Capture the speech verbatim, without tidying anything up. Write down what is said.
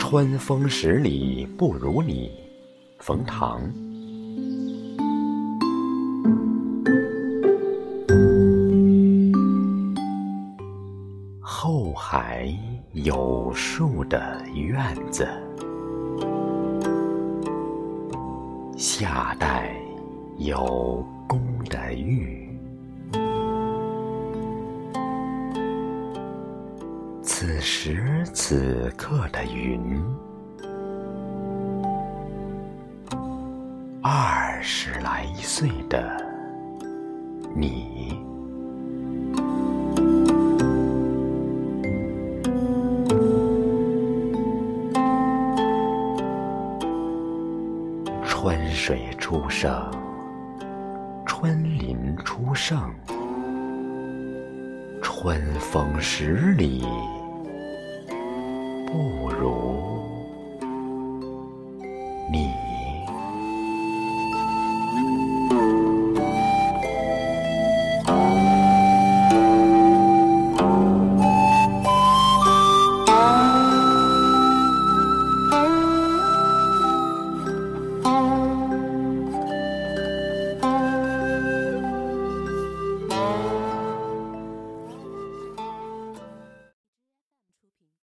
春风十里不如你，冯唐。后海有树的院子，夏代有宫的玉，此时此刻的云，二十来岁的你。春水初生，春林初盛，春风十里不如